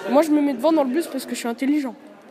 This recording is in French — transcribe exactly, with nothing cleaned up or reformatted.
Moi, je me mets devant dans le bus parce que je suis intelligent.